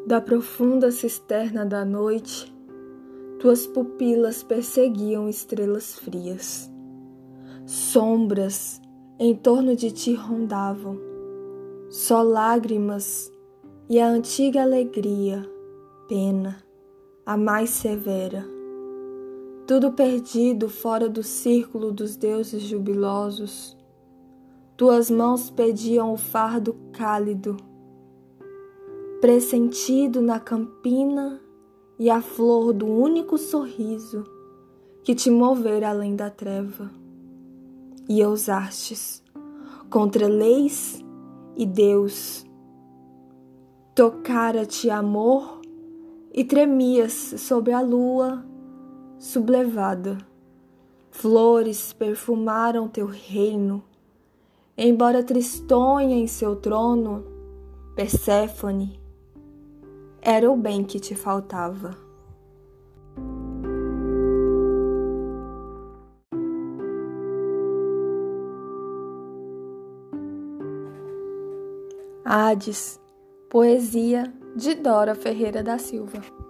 Da profunda cisterna da noite, tuas pupilas perseguiam estrelas frias. Sombras em torno de ti rondavam, só lágrimas e a antiga alegria, pena, a mais severa. Tudo perdido fora do círculo dos deuses jubilosos. Tuas mãos pediam o fardo cálido, pressentido na campina e a flor do único sorriso que te movera além da treva. E ousastes, contra leis e Deus, tocara-te amor e tremias sobre a lua sublevada. Flores perfumaram teu reino, embora tristonha em seu trono, Perséfone, era o bem que te faltava. Hades, poesia de Dora Ferreira da Silva.